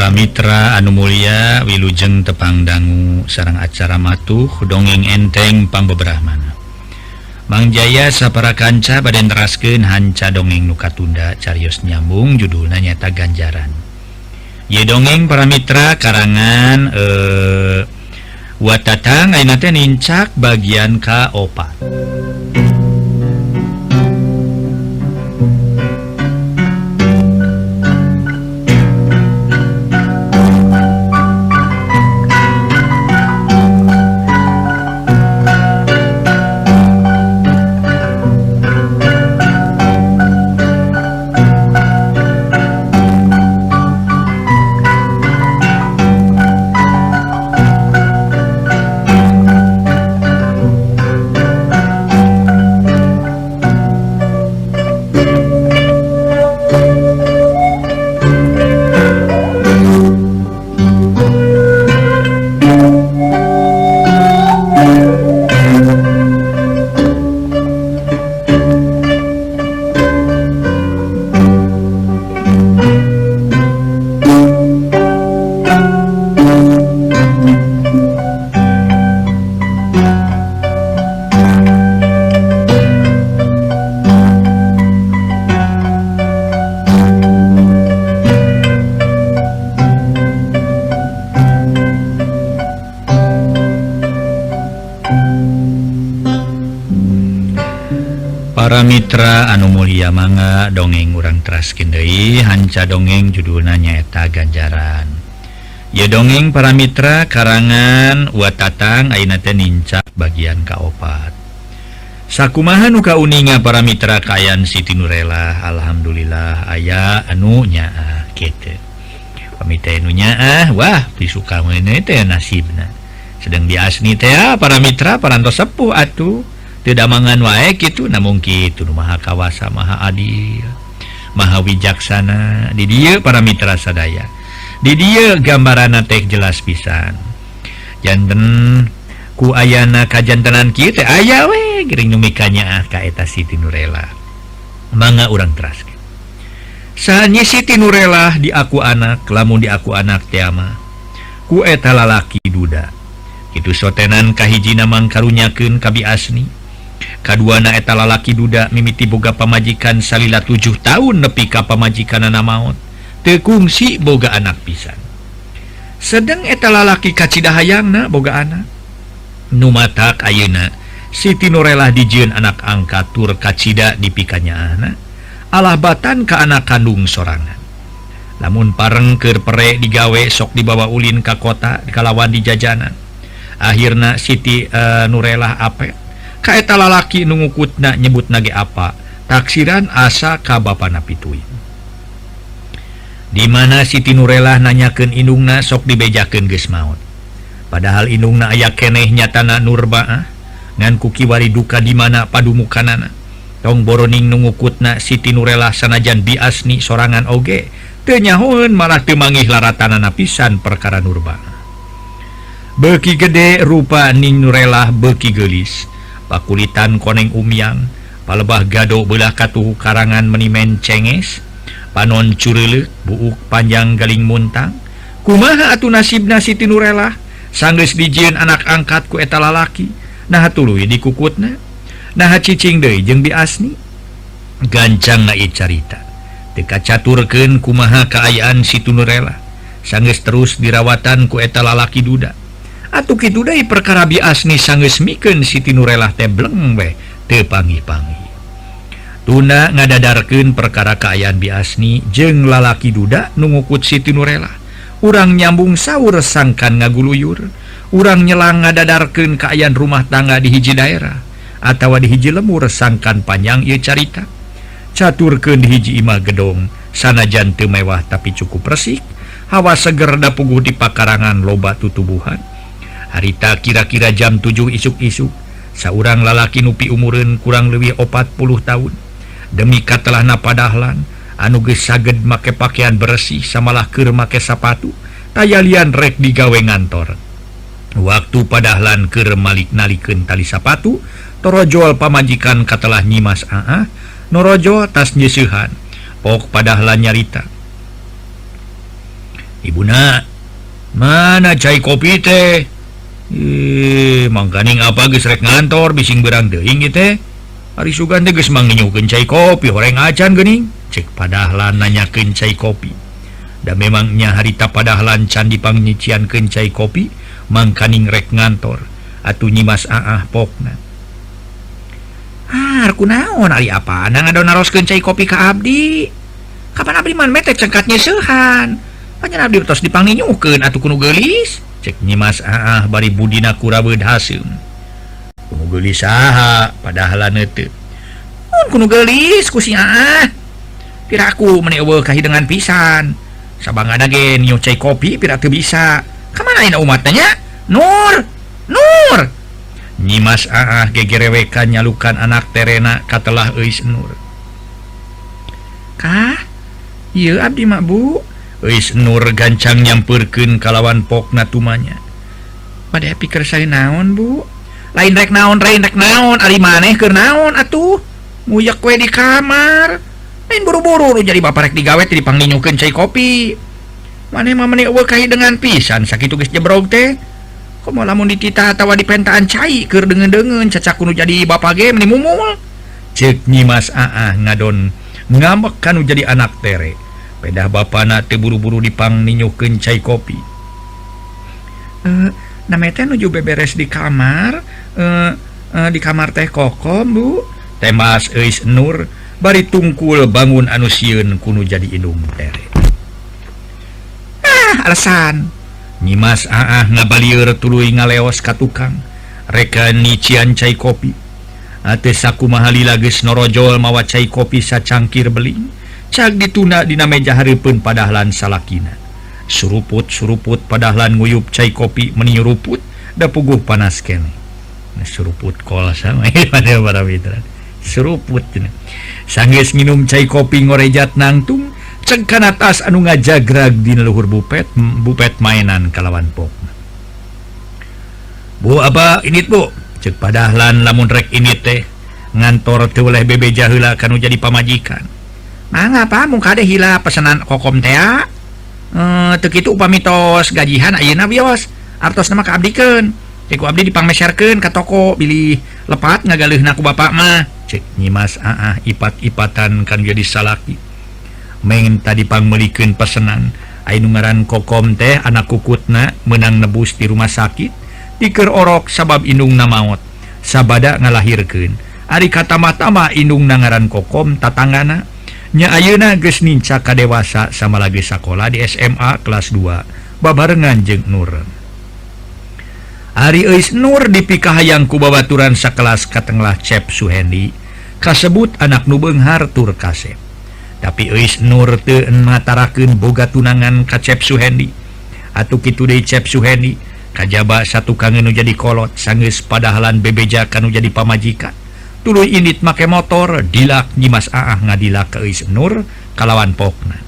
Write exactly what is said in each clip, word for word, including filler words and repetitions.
Para mitra anu mulia wilujeng tepang dangu sareng acara matuh dongeng enteng pangbeberahmana. Mang Jaya sapara kanca bade neraskeun hanca dongeng nu katunda carios nyambung judulna nyata ganjaran. Ye dongeng para mitra karangan eh Watatang ayeuna teh nincak bagian kaopat. Para mitra anu mulia mangga dongeng urang teraskeun deui hanca dongeng judulna nyaeta ganjaran. Ye dongeng para mitra karangan Watatang ayeuna teh nincak bagian kaopat. Sakumaha nu kauninga para mitra kaayaan Siti Nurela? Alhamdulillah aya anu nyaah kitu. Pamita anu nyaah wah pisuka meuneu teh nasibna. Sedang diasni teh para mitra parantos sepuh atuh. Tidak mangan wae gitu, namun gitu maha kawasa maha adil maha wijaksana di dieu para mitra sadaya. Di dieu gambaranna teh jelas pisan. Janten ku ayana kajantenan kieu teh aya we geuring nu mikanya ah ka eta Siti Nurela. Mangga urang teraskeun. Saha Siti Nurela di aku anak, lamun di aku anak teh mah ku eta lalaki duda. Kitu sotenan kahijina mangkarunyakeun ka Biasni. Kaduana eta lalaki duda mimiti boga pamajikan salila tujuh tahun nepi ka pamajikanana maot teu kungsi boga anak pisan. Sedeng eta lalaki kacidahayangna boga anak. Nu matak ayeuna Siti Nurela dijieun anak angkat tur kacida di pikanyaahna alahbatan ka anak kandung sorangan. Lamun pareng keur pere digawe sok dibawa ulin ka kota kalawan di jajanan. Akhirna Siti uh, Nurela ape kaeta lalaki nu ngukutna nyebutna ge apa taksiran asa ka bapana pituin. Di mana Siti Nurela nanyakeun indungna sok dibejakeun geus maot. Padahal indungna aya keneh nyatana Nurba ngan ku kiwari duka di mana padumukanana. Tong boroning nu ngukutna Siti Nurela sanajan Biasni sorangan oge teu nyahoeun malah teu manggih laratanana pisan perkara Nurba. Beuki gede rupa Ning Nurela beuki geulis. Pakulitan koneng umyang, palebah gado belah katuhu karangan menimen cenges, panon cureuleuh, buuk panjang galing muntang. Kumaha atuh nasibna Siti Nurela? Sanggeus dijieun anak angkat ku eta lalaki, naha tuluy dikukutna, naha cicing deui jeung Biasni. Gancang ieu carita. Teu kacaturkeun kumaha kaayaan Siti Nurela. Sanggeus terus dirawatan ku eta lalaki duda. Atuh kitu deui perkara Biasni sanggeus mikeun Siti Nurela teh bleng we teu pangi-pangi. Tunda ngadadarkeun perkara kaayaan Biasni jeung lalaki duda nu ngukut Siti Nurela. Urang nyambung saur sangkan ngaguluyur, urang nyelang ngadadarkeun kaayaan rumah tangga di hiji daerah atawa di hiji lemur sangkan panjang ieu carita. Caturkeun di hiji imah gedong sanajan teu mewah tapi cukup resik, hawa seger da puguh di pakarangan loba tutubuhan. Harita kira-kira jam tujuh isuk-isuk saurang lalaki nupi umureun kurang leuwih opat puluh tahun demi katelahna padahlan anu geus saged make pakaian bersih samalah keur make sapatu tayalian rek digawe ngantor. Waktu padahlan keur malik nalikeun tali sapatu torojol pamajikan katelah nyimas aa norojo tas nyeseuhan pok padahlan nyarita Ibuna mana cai kopi teh eh mangkaning apa geus rek ngantor bising berang teuing ieu teh ari sugan teh geus manginyokeun cai kopi horeng acan geuning cek padahlan nanyakeun cai kopi da memangnya harita padahlan can dipangniciankeun cai kopi mangkaning rek ngantor atuh nyimas aah pokna ah kunaon ari apana ngadon naroskeun cai kopi ka abdi kapan abdi man mete cengkatnya seuhan panjang abdi tos dipangninyukeun atuh kuno geulis cek nyimas aah bari budina kurabeud haseum kuno geulis saha padahlan teu mun kuno geulis ku si aah piraku meni eueuh kahideungan pisan sabangana ge nyium cai kopi pira teu bisa kamana ayeuna umat nya Nur Nur nyimas aah gegerewekan nyalukan anak terena katelah euis Nur kah ieu abdi mak bu euis Nur gancang nyampeurkeun kalawan pokna tumanya bade pikir sae naon bu lain rek naon lain rek naon ari maneh keur naon atuh nguyak we di kamar lain buru-buru nu jadi bapak rek digawe teh dipangninyokeun cai kopi maneh mah meuni eueuh kahideungan pisan sakitu geus jebrog teh komo lamun dititah atawa dipentaan cai keur deungeun-deungeun cacak kudu jadi bapak ge meuni mumul ceuk nyimas aah ngadon ngambek kanu jadi anak tere pedah bapana teu buru-buru dipangninyokeun cai kopi eh na teh nuju beberes di kamar eh uh, di kamar teh kokom bu temas euis Nur bari tungkul bangun anu sieun kudu jadi indung tere ah alasan nyimas aah ngabalieur tuluy ngaleos ka tukang reka nician cai kopi ate sakumaha lila geus norojol mawa cai kopi sacangkir beling cak dituna dina meja hareupeun padahlan salakina suruput-suruput padahlan nguyup cai kopi meni ruput da puguh panas keneh nah, suruput kol sama pada para mitra suruput sanggeus nginum cai kopi ngorejat nangtung cek kana tas anu ngajagrag dina luhur bupet bupet mainan kalawan pok bu apa ini bu cek padahlan lamun rek ini teh ngantor teu oleh bebeja heula kanu jadi pamajikan mangga pa mung kade hila pesanan kokom teh eh teu kitu upami tos gajihan ayeuna bios artos nama kaabdikeun cek ku abdi dipangmeserkeun ka toko bilih lepat ngagaleuhna ku bapak mah cek nyimas aah ipat-ipatan kan jadi salaki meng tadi pangmelikeun pesanan anu ngaran kokom teh anak kukutna menang nebus di rumah sakit dikeur orok sabab indungna maot sabada ngalahirkeun ari katama-tama indungna ngaran kokom tatanggana nya ayeuna geus ninca ka dewasa sama lagi sakola di S M A kelas dua babarengan jeung Nur ari euis Nur dipikahayang ku babaturan sakelas katenglah Cep Suhendi kasebut anak nu beunghar tur kasep tapi euis Nur teu matarakeun boga tunangan ka Cep Suhendi atuh kitu deui Cep Suhendi kajaba satu kangen nu jadi kolot sanggeus padahlan bebeja kanu jadi pamajikan tuluy indit make motor dilak nyimas aah ngadilak ke euis Nur kalawan pokna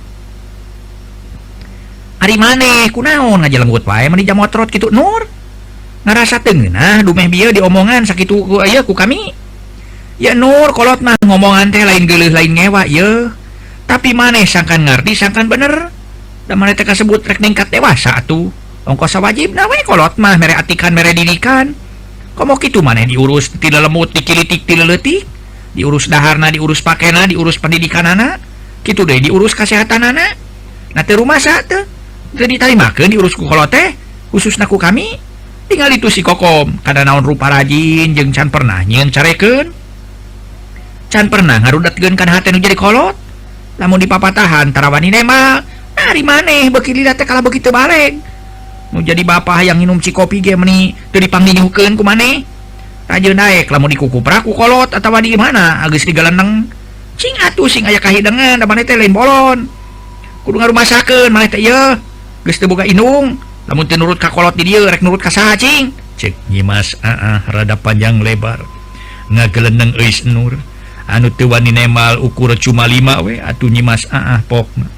ari maneh kunaon ngajalenggut wae meni jam motorot kitu Nur ngarasa teu ngeunah dumeh bieu diomongan sakitu ku aya ku kami ya Nur kolot mah ngomongan teh lain geuleuh lain ngewa ye tapi maneh sangkan ngarti sangkan bener da maneh teh kasebut rek ningkat dewasa atuh ongkos sawajibna we kolot mah mere atikan mere didikan komo kitu maneh diurus ti lelemut dikilitik ti leutik diurus daharna diurus pakena diurus pendidikanana kitu deui diurus kasehatanana na teu rumasa teu teu ditarimakeun diurus ku kolot teh khususna ku kami tinggal itu si kokom kada naon rupa rajin jeung can pernah nyieun carekeun can pernah ngarudatkeun kana hate nu jadi kolot lamun dipapatahan tarawani mah ari maneh beuki lila teh kala begitu baleg nu jadi bapak yang minum si kopi ge meni teu dipangdinyukeun ku maneh rajeun daek lamun dikukuprak ku kolot atawa di mana geus digaleneng cing atuh sing aya kahideungan da maneh teh lain bolon kudu ngarumasakeun maneh teh ieu geus teu boga indung lamun teu nurut ka kolot di dieu rek nurut ka saha cing cek nyimas aah rada panjang lebar ngageleneng euis Nur anu teu wani nemal ukur cuma lima we atuh nyimas aah pokna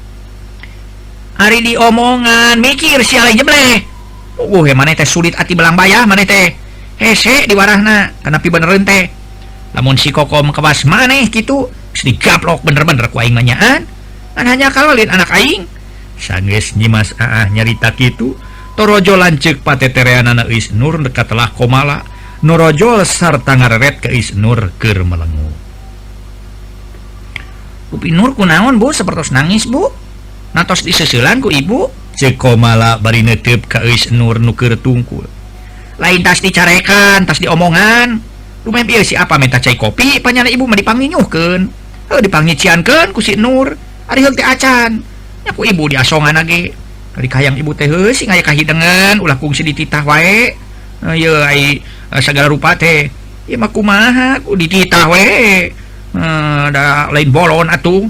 ari diomongan mikir siale jebleh uh maneh teh sulit ati belang bayah maneh teh hese diwarahna kanapi benereun teh lamun si kokom kewas maneh kitu geus digaplok bener-bener ku aing mah nyaan kan hanya kalolin anak aing sanggeus nyimas Aah nyarita kitu torojo lanceuk patetereanana Isnur dekat telah komala nurojol sarta ngareret ke Isnur keur melengu. Upi Nur kunaon Bu sapertos nangis Bu? Natos diseuselan ku ibu? Ceuk komala bari neuteup ka Isnur nu keur tungkul. Lain tas dicarekan, tas diomongan. Lumayan ieu si apa minta cai kopi, panyana ibu mah dipanginyuhkeun. Heuh dipangiciankeun ku si Nur. Ari heug teh acan. Nya ku ibu diasongan ge. Ari kahayang ibu teh heuh sing aya kahidengan ulah kungsi dititah wae. Ieu ai segala rupa teh. Ieu mah kumaha ku dititah wae. Uh, ada lain bolon atuh.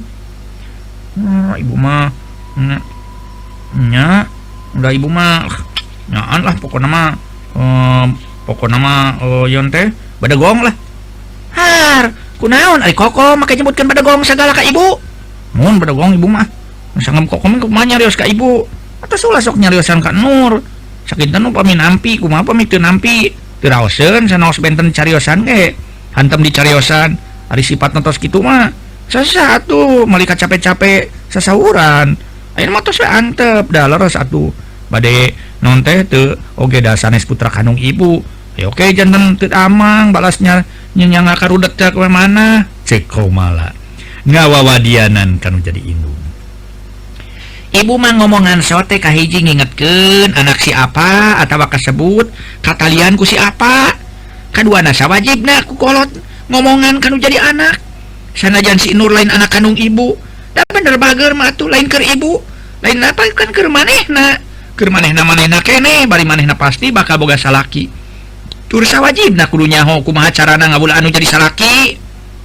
Uh, ibu mah nya, nya udah ibu mah nyaan lah pokoknya mah uh, pokoknya mah uh, yon teh badagong lah. Har kunaon ari koko make nyebutkeun badagong sagala ka ibu. Mun badagong ibu mah sangem koko mah kumaha nyarios ka ibu atos ulah sok nyariosan ka Nur sakinten nu pami nampi kumaha pami teu nampi teu raoseun sanaos benten cariosan ge hantem dicariosan. Ari sifat tos kitu mah sasatu malika capek-capek sasauran ayeuna mah tos we antep da leres atuh bade non teh teu oge da sanes putra kandung ibu ya oke janten teu amang balasnya nyenyang karudek teh ke mana ceuk komala ngawawadianan kanu jadi indung. Ibu mah ngomongan sote kahiji ngingetkeun anak si apa atawa kasebut katalian ku si apa kaduana sawajibna ku kolot ngomongan kanu jadi anak sanajan si Nur lain anak kandung ibu da bener bager mah atuh lain keur ibu lain apa kan keur manehna keur manehna manehna keneh bari manehna pasti bakal boga salaki tur sawajibna kudu nyaho kumaha carana ngabula anu jadi salaki.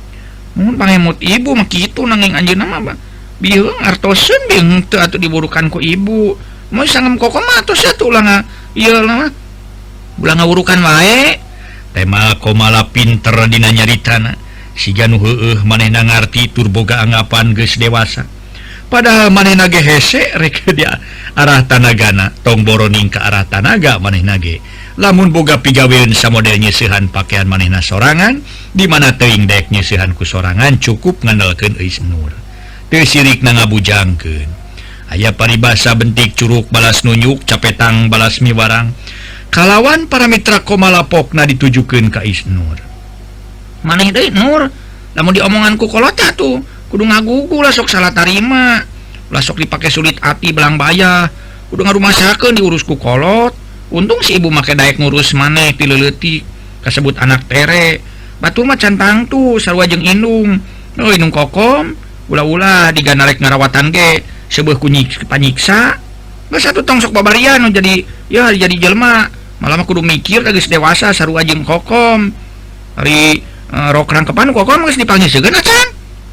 Mun pangemut ibu mah kitu nanging anjeunna mah bieu artoseun bieu teu atuh diburukan ku ibu moy sangem koko mah tos atuh ulah ieu mah ulah ngawurukan wae. Tema komala pinter dina nyaritana siga nu heueuh manehna ngarti tur boga anggapan geus dewasa padahal manehna ge hese rek dia arah tanagana tong boroning ka arah tanaga manehna ge lamun boga pigaweun samodel nyeusehan pakaian manehna sorangan di mana teuing daek nyeusehan ku sorangan cukup ngandalkeun Isnur teu sirikna ngabujangkeun aya paribasa bentik curug balas nunjuk capetang balas miwarang kalawan para mitra komalapokna ditujukeun ka Isnur. Maneh deui Nur, lamun diomongan ku kolot tuh kudu ngagugu lah sok salah tarima. Ulah sok dipake sulit ati belang baya. Kudu ngarumasakeun diurus ku kolot. Untung si ibu make daek ngurus maneh ti leuleutik kasebut anak tere. Batur mah cantang tuh sarua jeung indung. Oh indung kokom, ulah-ulah diganarek ngarawatan ge seueuh ku panyiksa. Geus atuh tong sok babarian jadi ya jadi jelema. Malah mah kudu mikir geus dewasa sarua jeung kokom. Ari uh, rok rangkepan kokom geus dipangnyeuseun acan.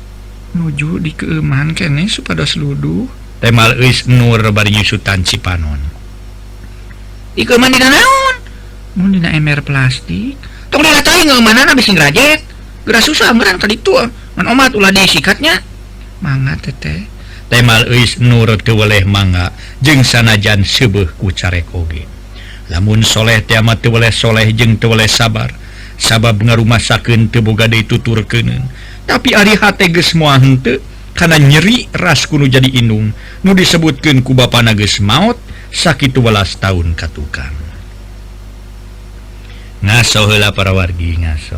Nuju dikeuman keneh supados luduh. Temal Isnur bari nyusutan Cipanon. Dikeuman dina naon? Mun dina ember plastik. Tong dina teh ngeumanana bisi ngrajet. Geura susah ngeuran ka ditu. Mun omat ulah disikatnya. Mangga teteh. Temal Isnur teu weleh mangga jeung sanajan seueuh ku carek oge. Lamun soleh teh amat teu weleh soleh jeung teu weleh sabar sabab ngarumasakeun teu boga deui tuturkeun tapi ari hate geus moal henteu kana nyeri ras kudu jadi indung nu disebutkeun ku bapana geus maot sakitu welas taun ka tukang. Ngaso heula para wargi ngaso.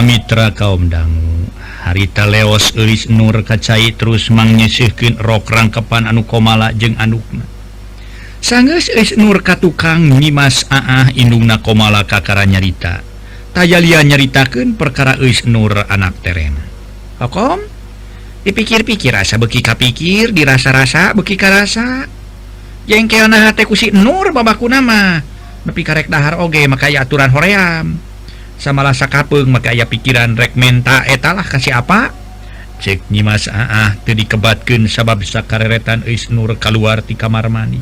para mitra kaum dangu harita leos euis Nur kacai terus mangnyeuseuhkeun rok rangkepan anu komala jeung anukna sanggeus euis Nur ka tukang nyimas aah indungna komala kakara nyarita tayalia nyaritakeun perkara euis Nur anak terena kokom dipikir-pikir asa beuki kapikir dirasa-rasa beuki karasa jengkelna hate ku si Nur babakuna mah nepi karek dahar oge maka aya aturan hoream samalah sakapeung maka aya pikiran rek menta eta lah kasih apa cek nyimas aah teu dikebatkeun sabab sakareretan euis Nur kaluar ti kamar mandi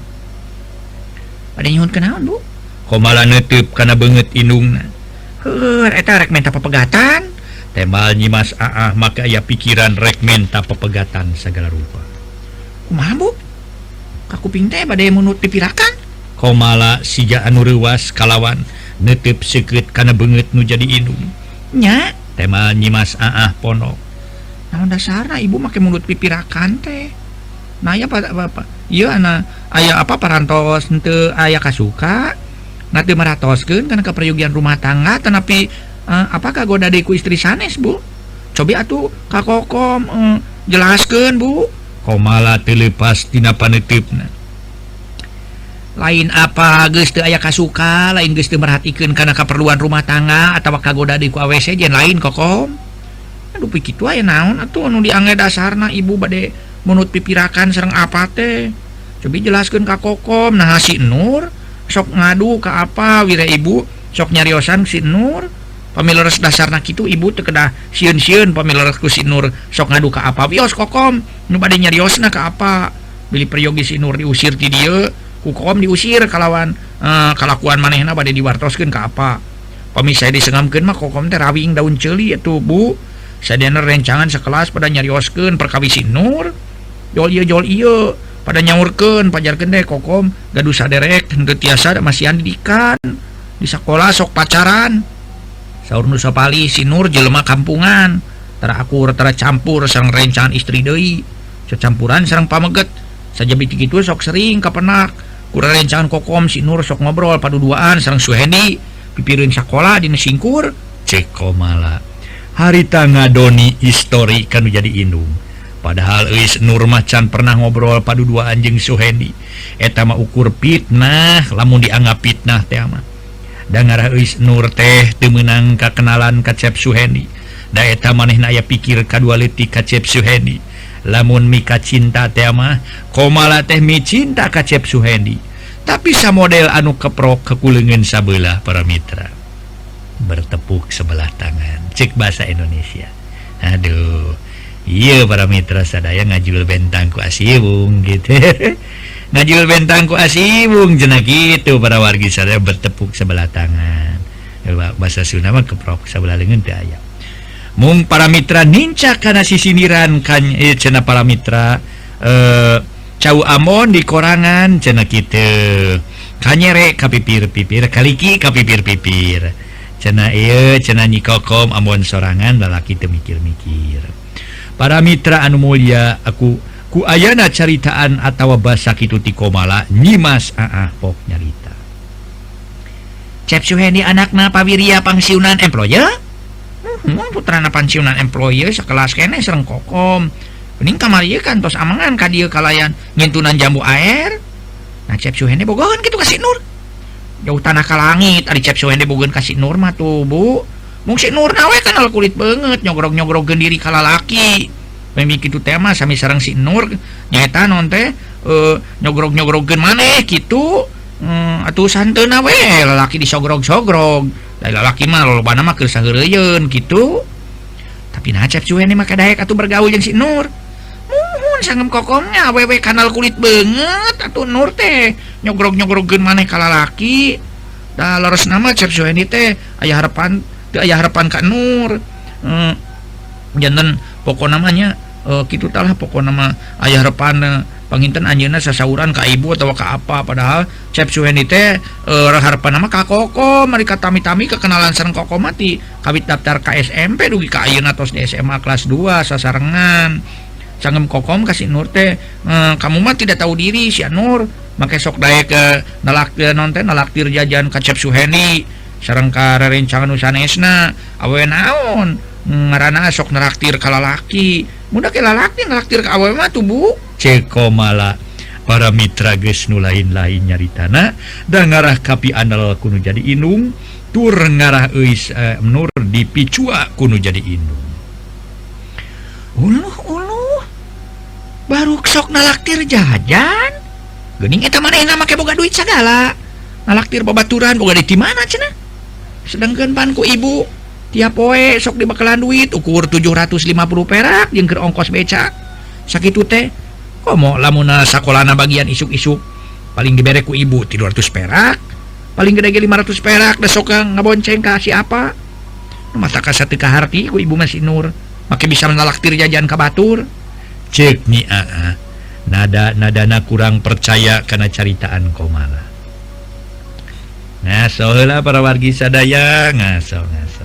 pada nyuhun kenaon Bu komala neuteub kana beungeut indungna heuh eta rek menta papegatan tembal nyimas aah maka aya pikiran rek menta papegatan sagala rupa kumaha Bu kakuping teh bade munut pipirakan komala sija anu reuwas kalawan neuteub seukeut kana beungeut nu jadi indung nya tema nyimas aah ponok naon dasarna ibu make mulut pipirakan teh nah aya apa ieu ana aya apa parantos henteu aya kasuka na teu maratoskeun kana kaprayogian rumah tangga tanapi uh, apa kagoda deui ku istri sanes Bu cobi atuh ka kokom uh, jelaskeun Bu komala teu leupas tina paneutupna lain apa geus teu aya kasuka lain geus teu merhatikeun kana kaperluan rumah tangga atawa kagoda deui ku A W C jen lain kokom aduh pi kitu aya naon atuh anu diangge dasarna ibu bade munut pipirakan sareng apa teh cobi jelaskeun ka kokom nah si Nur sok ngadu ka apa wira ibu sok nyariosan si Nur pamileres dasarna kitu ibu teu kedah sieun-sieun pamileres ku si Nur sok ngadu ka apa wios kokom nu bade nyariosna ka apa bili peryogi si Nur diusir ti dieu kukom diusir kalawan uh, kalakuan manehna bade diwartoskeun ka apa pamisah disengamkeun mah kokom teh rawing daun ceuli atuh Bu sadayana rencangan sakelas pada nyarioskeun perkawis si Nur jol ieu jol ieu pada nyaurkeun pajarkeun teh kokom gaduh saderek henteu tiasa masihan didikan di sakola sok pacaran saur nu sapali si Nur jelema kampungan tara akur tara campur sareng rencangan istri deui cacampuran sareng pameget sajabi kitu sok sering kapenak kurang rencangan kokom si Nur sok ngobrol paduduaan sareng Suhendi pipireun sakola dina singkur cek komala harita ngadoni histori kanu jadi indung padahal euis Nur macan pernah ngobrol paduduaan jeung Suhendi eta mah ukur fitnah lamun dianggap fitnah teh mah da ngarah euis Nur teh teu meunang kakenalan ka Cep Suhendi da eta manehna aya pikir kadua leutik ka Cep Suhendi lamun mika cinta teh mah komala teh mi cinta ka Cep Suhendi tapi samodel anu keprok kekuleungeun sabelah para mitra bertepuk sebelah tangan cek bahasa Indonesia aduh iya para mitra sadaya ngajul bentang ku asiwung gitu ngajul bentang ku asiwung cenah kitu para wargi sadaya bertepuk sebelah tangan bahasa Sunda mah keprok sabelah leungeun teh aya mung para mitra nincak kana sisiniran kan eh, cenah para mitra eh, cau amon di korangan cenah kitu kanyere kapipir-pipir kaliki kapipir-pipir cenah ieu cenah nyi kokom amon sorangan lalaki teu mikir-mikir para mitra anu mulya aku ku ayana caritaan atawa basa kitu ti komala nyimas aah pok nyarita Cep Suhendi anakna pawiria pangsiunan employer hmm, putrana pensiunan employer sakelas kene sareng kokom mending kamar ieu kan tos amangan ka dieu kalayan nyentunan jambu air nah Cep Suhendi bogoheun kitu ka si Nur jauh tanah ka langit ari Cep Suhendi bogoheun ka si Nur mah tuh Bu mung si Nur nawe kenal kulit banget nyogrog-nyogrogkeun diri ka lalaki pemi kitu teh mah sami sareng si Nur nyaeta non teh uh, nyogrog-nyogrogkeun maneh kitu hmm, atuh santeuna we lalaki disogrog-sogrog da lalaki mah lolobana mah keur saheureuyeun kitu tapi nah Cep Suhendi mah kadaek atuh bergaul jeung si Nur muhun sangem kokomnya awewe kanal kulit banget atuh Nur teh nyogrog-nyogrogkeun maneh ka lalaki da leresna mah Cep Suhendi teh aya harapan teu aya harapan ka Nur hmm, janten pokok namanya uh, kitu tah lah pokona mah aya harapan uh, panginten anjeunna sasauran ka ibu atawa ka apa padahal Cep Suhendi teh uh, harapan mah ka kokom mari katami-tami kekenalan sareng kokom mati kawit daftar ka S M P dugi ka ayeuna tos di S M A kelas dua sasarengan sangem kokom ka si Nur teh uh, kamu mah tidak tahu diri si Nur make sok daek ke nalaktir non teh nalaktir jajan ka Cep Suhendi sareng karencangan usanesna awewe naon ngaranna sok neraktir ka lalaki mudah ke lalaki neraktir ka awewe mah tuh Bu cek Komala. Para mitra geus nu lain-lain nyaritana da ngarah kapi andal kuno jadi inung tur ngarah euis eh, nur dipicua kuno jadi inung. Uluh uluh baru sok nalaktir jajan geuning eta manehna make boga duit sagala nalaktir babaturan boga di mana cenah sedangkan pan ku ibu tiap poe sok dibakalan duit ukur tujuh ratus lima puluh perak jeung keur ongkos beca sakitu teh komo lamun sakolana bagian isuk-isuk paling dibere ku ibu tiga ratus perak paling gede ge lima ratus perak da sok ngabonceng ka si apa nu mata ka sateu kaharti ku ibu masih Nur make bisa nalaktir jajan ka batur cek ni aa nada nadana kurang percaya karena caritaan Komala. Ngaso heula para wargi sadaya ngaso ngaso.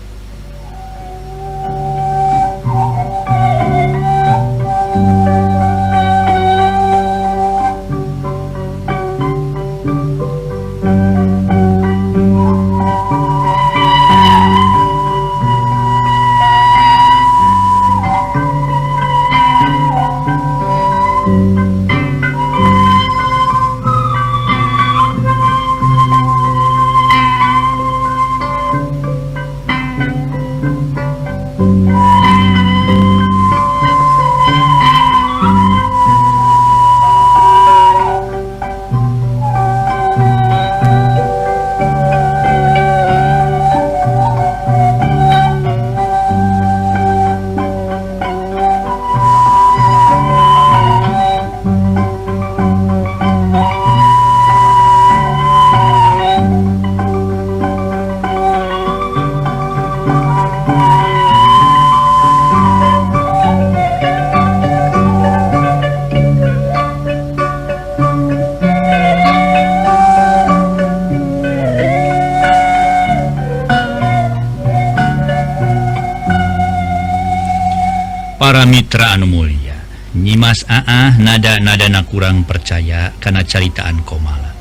Para mitra anu mulia nyimas aa nada-nadana kurang percaya karena caritaan Komala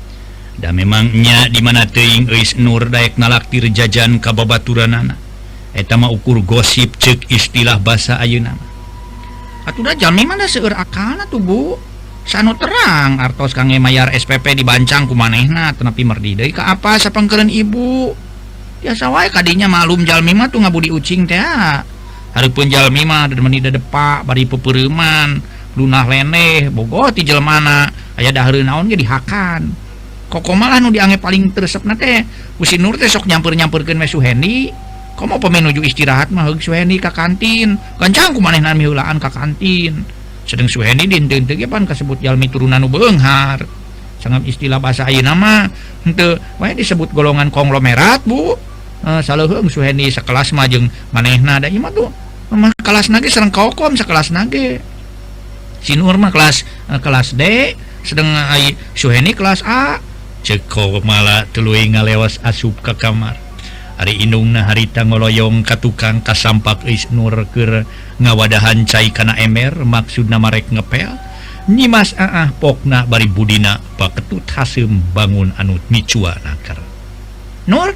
da memangnya dimana teuing euis Nur daek nalaktir jajan ka babaturanana eta mah ukur gosip ceuk istilah basa ayeuna mah atuh da jalmi mah seueur akalna tuh Bu sanu terang artos kangge mayar S P P dibancang ku manehna tenapi merdi deui ka apa sapangkeun ibu biasa wae kadinya malum jalmi mah tuh ngabudi ucing teh hareupeun jalmi mah da meuni depak bari pepeureman lunah leneh bogoh ti jelmana aya dahareun naon ge dihakan kok malah nu dianggep paling tresepna teh ku si Nur teh sok nyamper-nyamperkeun we Suhendi komo pemain nuju istirahat mah heug Suhendi ka kantin gancang ku manehna miheulaan ka kantin sedeng Suhendi dinten teh ge pan kasebut jalmi turunan nu beunghar sangap istilah bahasa ayeuna mah henteu wae disebut golongan konglomerat Bu. Uh, saleuheung Suhendi sakelas mah jeung manehna da ieu mah tuh mah kelasna ge sareng Kokom sakelasna ge si Nur mah kelas uh, kelas D sedang ai Suhendi kelas A ceuk Komala tuluy ngalewas asup ka kamar ari indungna harita ngoloyong ka tukang kasampak euis Nur keur ngawadahan cai kana ember maksudna marek ngepel nyimas aah pokna bari budina paketut haseum bangun anu micua nakar Nur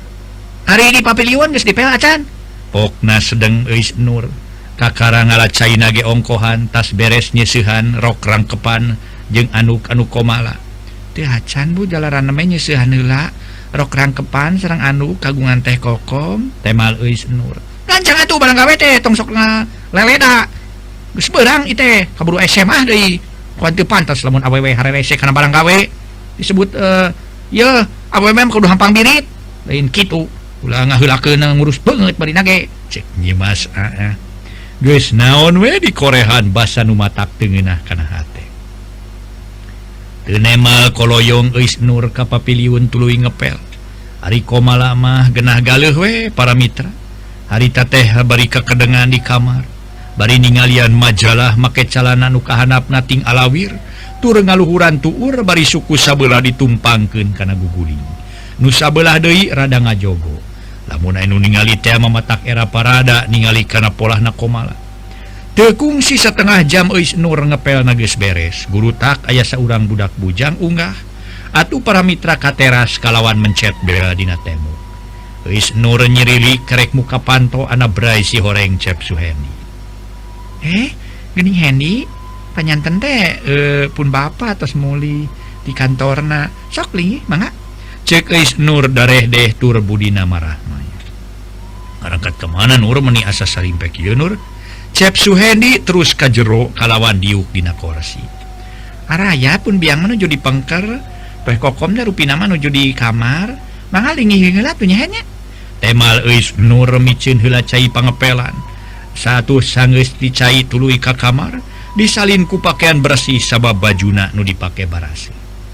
hari di papiliun geus dipel acan pokna sedeng euis Nur kakara ngalacaina ge ongkohan tas beres nyeusehan rok rangkepan jeung anuk-anuk Komala teu acan Bu jalaran mah nyeusehan heula rok rangkepan sareng anuk kagungan teh Kokom temal euis Nur gancang atuh barang gawe teh tong sok leleda geus beurang ieu teh kaburu S M A deui kuat teu pantes lamun awewe harerese kana barang gawe disebut uh, ye awewe mah kudu hampang birit lain kitu ulah ngaheulakeun ngurus beungeut bari nage cek nyimas aa geus naon we di korehan basa nu matak teu ngeunah kana hate teu nemal koloyong euis Nur ka papiliun tuluy ngepel ari Komala mah genah galeuh we para mitra harita teh bari kakedengan di kamar bari ningalian majalah make calana nu kahanapna ting alawir tur ngaluhuran tuur bari suku sabeula ditumpangkeun kana guguling nu sabelah deui rada ngajogo lamun anu ningali teh mamatak era parada ningali kana polahna Komala teu kungsi satengah jam euis Nur ngepelna geus beres guru tak aya saurang budak bujang unggah atuh para mitra ka teras kalawan mencet bela dina temu. Geus Nur nyirili kerek muka panto anak brai si horeng Cep Suhendi. Eh, geuning Hendi, panyanten teh eh, pun bapa tos muli di kantorna. Sok li, mangga. Cek geus Nur dareh deh tur budina marah. Arangkat kemana Nur meni asa sarimpek ieu Nur? Cep Suhendi terus ka jero kalawan diuk dina kursi. Araya pun biang menuju di pengker, teh kokom teh rupina menuju di kamar, mangga linggih heula tuh nya nya. Temal eus Nur micin heula cai pangepelan. Satu sanggeus dicai tuluy ka kamar, disalin ku pakaian bersih sabab bajuna nu dipake barasi.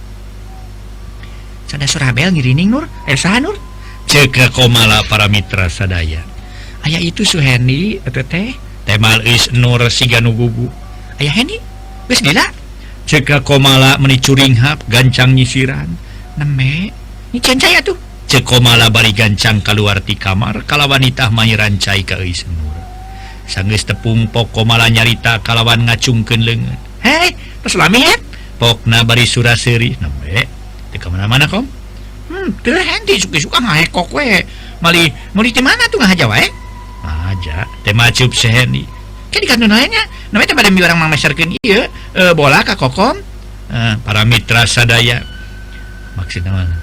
Sada surabel ngirining Nur, eh saha Nur? Cek komala para mitra sadaya. Aya itu Suhendi eta teh temal is Nur siga nu gugu. Aya Hendi geus gila. Cek komala meni curinghap gancang nyisiran. Neme nyicen cai atuh. Cek komala bari gancang keluar ti kamar kalawan itah mairan cai ka eus Nur. Sanggeus tepung pok komala nyarita kalawan ngacungkeun leungeun. Hei, tos lami het. Pokna bari suraseuri. Neme teu ka mana-mana kom. Hmm, teu Hendi suka-suka ngahekok we. Mali muli teh mana tuh ngahaja wae? Aja, teh macup si Hendi. Kan di kantor nya, namanya teh bade mi urang mameserkeun ieu, e, bola ka kokom. E, para mitra sadaya. Maksudna mah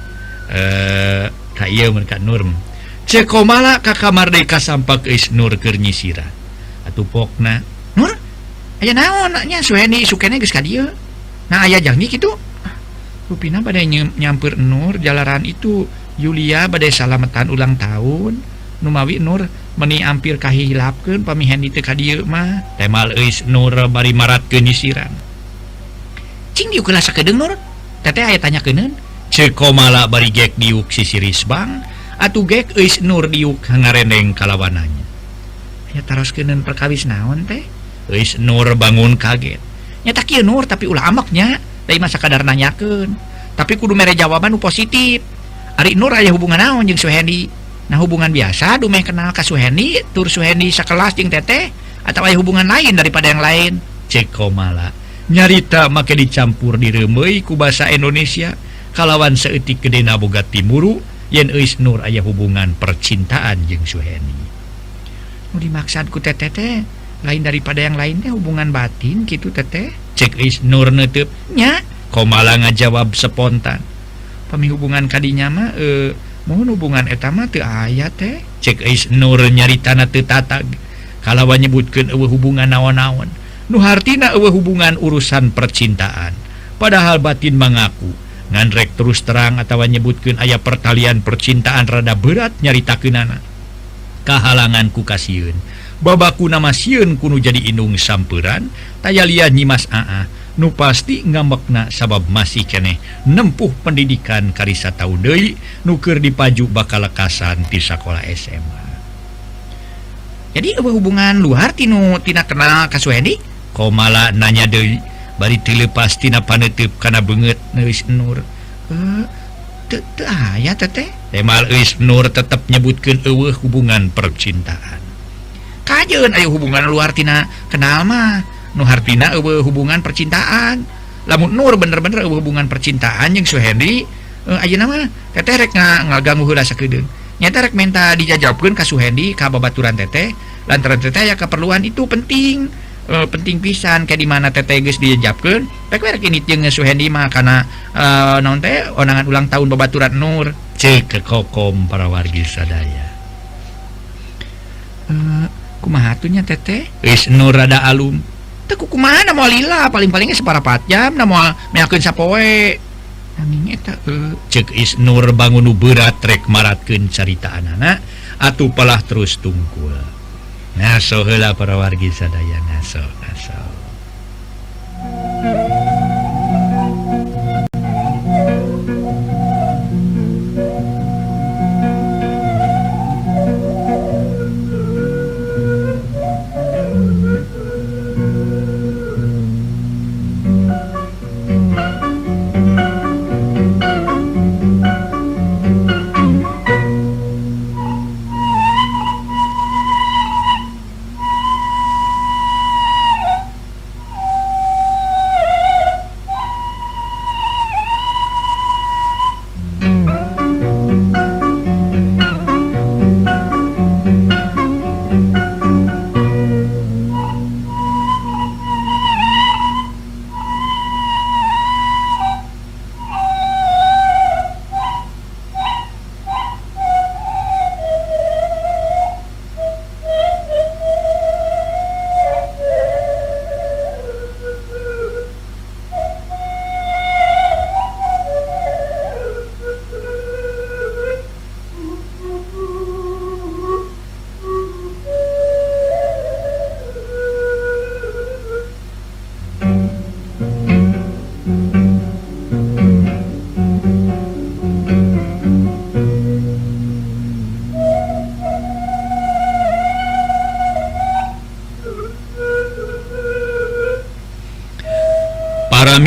eh ka ieu mun ka Nur. Cek komala ka kamar deui kasampak geus Nur keur nyisiran. Atuh pokna, Nur, aya naon nya Suhendi sukene geus ka dieu. Nah aya janji kitu. Rupina badai nyamper Nur jalaran itu Yulia badai salamatan ulang tahun numawi Nur meni ampir kahilapkeun pami Hendi teu ka dieu mah temal eus Nur bari maratkeun nyisiran. Cing diuk heula sakedeung Nur teteh aya tanyakeun ceuk komala bari gek diuk sisiris bang atuh gek eus Nur diuk ngareneng kalawananya. Aya taroskeun perkawis naon teh? Eus Nur bangun kaget. Nya tak kieu Nur tapi ulah ameknya. Dari masa kadar nanyakeun, tapi kudu mere jawaban nu positif. Ari Nur aya hubungan naon jeung Suhendi? Nah hubungan biasa dumeh kenal ka Suhendi, tur Suhendi sakelas jeung teteh atau aya hubungan lain daripada yang lain? Cek komala. Nyarita make dicampur direumeuy ku basa Indonesia kalawan saeutik gedena boga timuru yen eus Nur aya hubungan percintaan jeung Suhendi. Nu dimaksud ku teteh teh lain daripada yang lain teh hubungan batin gitu teteh. Cek is Nur neuteub nya komala ngajawab spontan. Pami hubungan kadinya mah e, mohon hubungan eta mah teu aya teh. Cek is Nur nyaritana teu tatag kalawan nyebutkeun eueuh hubungan naon-naon nu hartina eueuh hubungan urusan percintaan padahal batin mengaku ngan rek terus terang atawa nyebutkeun aya pertalian percintaan rada berat nyaritakeunana kahalangan ku kasieun babaku nama sieun kuno jadi indung sampuran taya lian nyimas aa nu pasti ngambekna sabab masih keneh nempuh pendidikan karisa tahun deui nu keur dipaju bakal lekasan ti sakola S M A. Jadi eueuh hubungan luar tinu tina kenal ka Suhendi? Komala nanya deui bari teu leupas tina paneuteub kana beungeut neus Nur. Eh teu teu aya teteh. Temal eus Nur tetep nyebutkeun eueuh hubungan percintaan. Kajeun aya hubungan luar tina kenal mah nu hartina eueuh hubungan percintaan. Lamun Nur bener-bener eueuh hubungan percintaan jeung Suhendi uh, ayeuna mah teteh rek ngaganggu heula sakedeung. Nyata rek minta dijajabkeun ka Suhendi ka babaturan teteh lantaran teteh aya keperluan itu penting uh, penting pisan kayak di mana teteh geus dijajabkeun rek rek ini jeung Suhendi mah kana uh, naon teh onangan ulang tahun babaturan Nur ceuk ke kokom para wargi sadaya. Uh, kumaha atunya teteh? Geus Nur rada alum. Teu kumaha na moal lila paling-palingnya separapat jam na moal meakeun sapoe. Nanging eta uh, ceuk is Nur bangun nu berat rek maratkeun caritaanana atuh palah terus tungkul. Ngaso heula para wargi sadaya ngaso ngaso.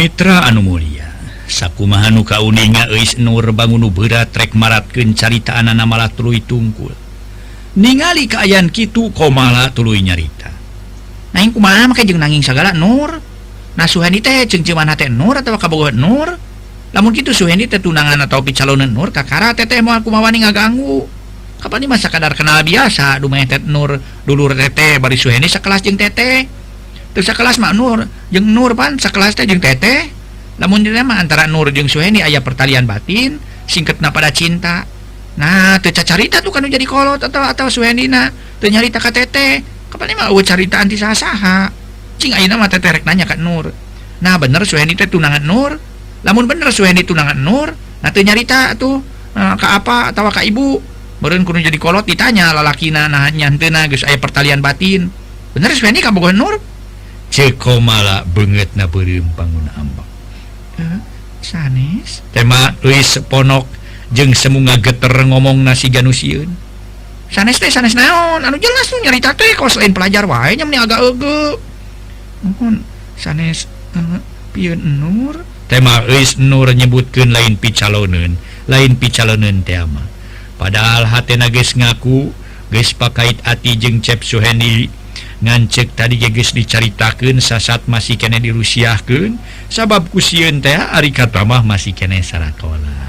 Mitra anu mulia sakumahanu kauninga eis Nur bangun berat trek maratkeun caritaan anak malah tuluy tungkul ningali keayaan kitu komala tuluy nyarita nanging kumaha make jeung nanging sagala Nur nah Suhendi teh jeung ceuman teh Nur atawa kabogohan Nur lamun kitu Suhendi teh tunangan atau picalonan Nur kakara teteh moal kumaha wani ngaganggu kapan mah sakadar kenal biasa dumeh teh Nur dulur teteh bari Suhendi sakelas jeung teteh teu sakelas mah Nur jeung Nur pan sakelas teh jeung teteh lamun dina mah antara Nur jeung Suhendi aya pertalian batin singketna pada cinta nah teu cacarita tuh kanu jadi kolot atau atau Suhendina teu nyarita ka teteh kapan mah eueuh caritaan ti saha-saha cing ayeuna mah teteh rek nanya ka Nur nah bener Suhendi teh tunangan Nur lamun bener Suhendi tunangan Nur nah teu nyarita tuh uh, ka apa atawa ka ibu meureun kudu jadi kolot ditanya lalakina nah nyanteuna geus aya pertalian batin bener Suhendi kabogohan Nur cek komala beungeutna beureum panguna ambak uh, sanes tema Luis Ponok jeung semunga geter ngomong nasi ganusieun sanes teh sanes naon anu jelas nu nyarita teh kos lain pelajar wae nya meni agak eueuh mohon sanes uh, pieun Nur tema Luis Nur nyebutkeun lain picaloneun lain picaloneun teh mah padahal hatena geus ngaku geus pakait ati jeung Cep Suhendi ngancek tadi geus dicaritakeun sasat masih kene dirusiahkeun sabab ku sieun teh ari kata mah masih kene sarakola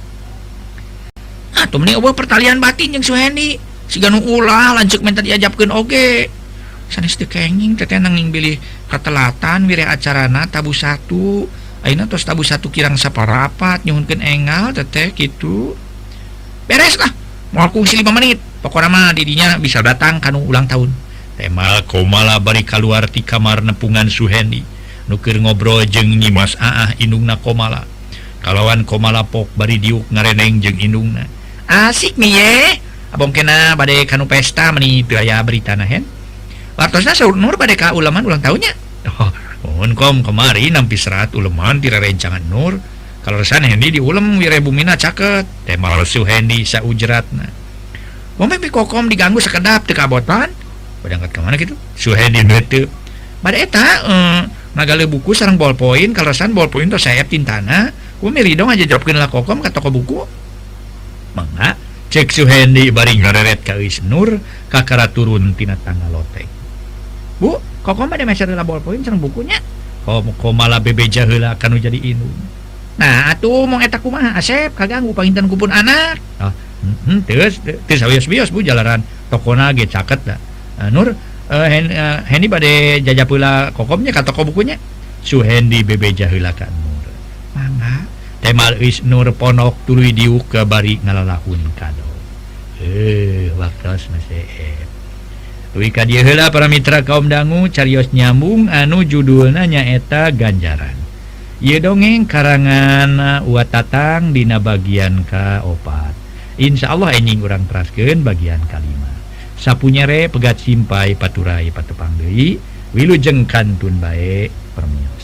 atuh meni eueuh pertalian batin jeung Suhendi siga nu ulah lanceuk minta diajabkeun oge sanes teu kenging teteh nanging bilih katelatan wireh acarana tabu satu ayeuna tos tabu satu kirang saparapat nyuhunkeun enggal teteh kitu beres lah moal kungsi lima menit pokona mah didinya bisa datang kanu ulang tahun tema komala bari kaluar ti kamar nepungan Suhendi nu keur ngobrol jeung Nyimas Aah indungna komala kalawan komala pok bari diuk ngareneng jeung indungna asik nih ye abong kena bade kanu pesta meni teu aya beritana hen wartosna saur Nur bade ka uleman ulang tahunnya oh mohon kom kemari nampi serat uleman ti rerencangan Nur kalorsan Hendi di ulem wire bumina caket tema Suhendi saujratna momen pi kokom diganggu sekedap teu kabotan berangkat ke mana gitu Suhendi neuteub bade eta eh, nagale buku sareng ballpoint kalorsan ballpoint teh sayap tintana ku milih dong aja jawabkeun lah kokom ka toko buku mangga cek Suhendi bari ngareret ka Eus Nur kakara turun tina tangga loteng bu kokom bade meser lah ballpoint sareng bukunya kom komala bebeja heula kanu jadi indung nah atuh mong eta kumaha Asep kaganggu panginten kupun anak oh heeh teus teu sawios-wios bu jalaran tokona ge caket da Uh, Nur uh, hen, uh, Hendi bade jajab heula kokomnya ka toko bukunya Suhendi bebeja heula ka Nur mangga temal Eus Nur Ponok tuluy diuk ke bari ngalalahun kado eh waktos masih Wi ka dieu heula para mitra kaum dangu carios nyambung anu judulna nyaeta Ganjaran ieu dongeng karangan Uat Tatang dina bagian kaopat insyaallah enjing urang teraskeun bagian kalima sapunyere pegat simpai paturai patepang deui wilujeng kantun bae permio